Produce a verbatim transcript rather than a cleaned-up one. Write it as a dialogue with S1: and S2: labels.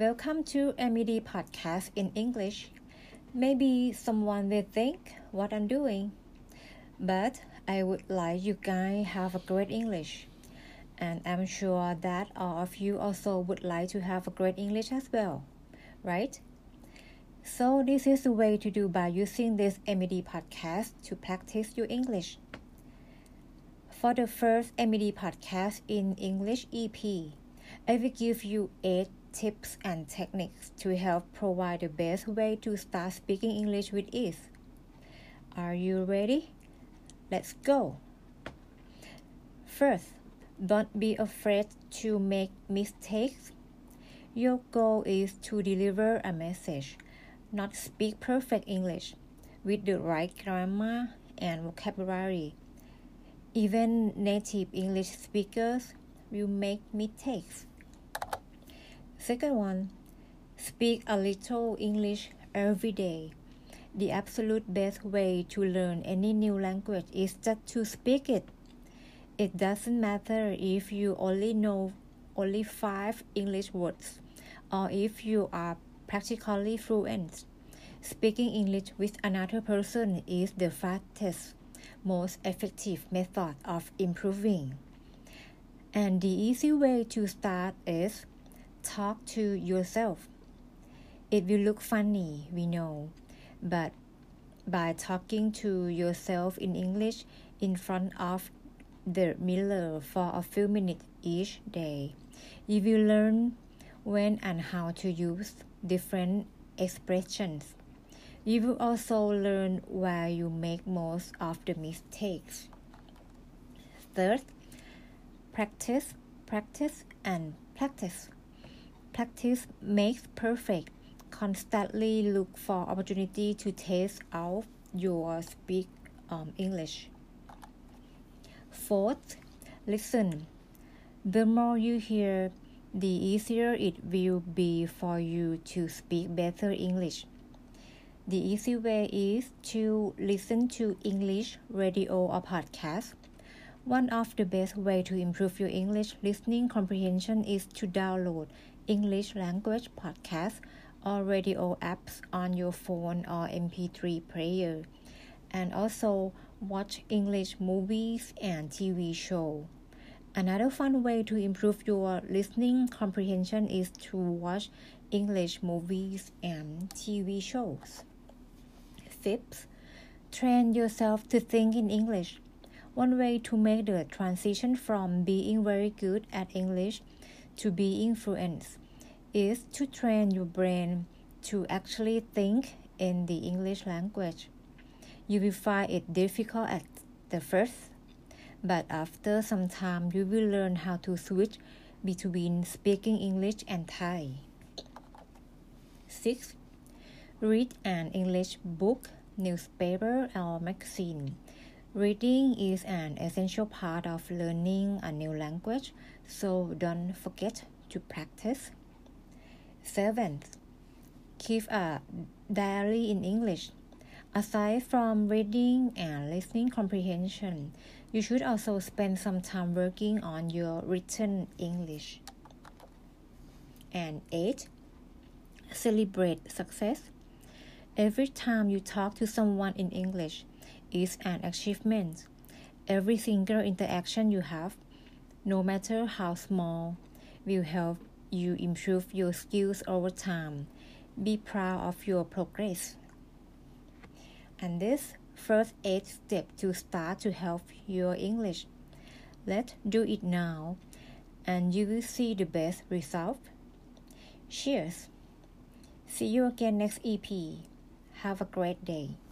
S1: Welcome to M E D Podcast in English. Maybe someone will think what I'm doing, but I would like you guys have a great English. And I'm sure that all of you also would like to have a great English as well, right? So this is the way to do by using this M E D podcast to practice your English. For the first M E D podcast in English E P, I will give you eight tips and techniques to help provide the best way to start speaking English with ease. Are you ready? Let's go! First, don't be afraid to make mistakes. Your goal is to deliver a message, not speak perfect English with the right grammar and vocabulary. Even native English speakers will make mistakes. Second one, speak a little English every day. The absolute best way to learn any new language is just to speak it. It doesn't matter if you only know only five English words or if you are practically fluent. Speaking English with another person is the fastest, most effective method of improving. And the easy way to start is talk to yourself. It will look funny, we know, but by talking to yourself in English in front of the mirror for a few minutes each day, you will learn when and how to use different expressions. You will also learn where you make most of the mistakes. Third, practice, practice, and practice. Practice makes perfect. Constantly look for opportunity to test out your speak um, English. Fourth, listen. The more you hear, the easier it will be for you to speak better English. The easy way is to listen to English radio or podcast. One of the best ways to improve your English listening comprehension is to download English language podcasts or radio apps on your phone or M P three player, and also watch English movies and T V shows. Another fun way to improve your listening comprehension is to watch English movies and T V shows. Fifth, train yourself to think in English. One way to make the transition from being very good at English to being fluent is to train your brain to actually think in the English language. You will find it difficult at the first, but after some time you will learn how to switch between speaking English and Thai. Six, read an English book, newspaper, or magazine. Reading is an essential part of learning a new language, so don't forget to practice. Seventh, keep a diary in English. Aside from reading and listening comprehension, you should also spend some time working on your written English. And eight, celebrate success. Every time you talk to someone in English is an achievement. Every single interaction you have, no matter how small, will help you improve your skills over time. Be proud of your progress. And this first eight steps to start to help your English. Let's do it now, and you will see the best result. Cheers! See you again next E P. Have a great day.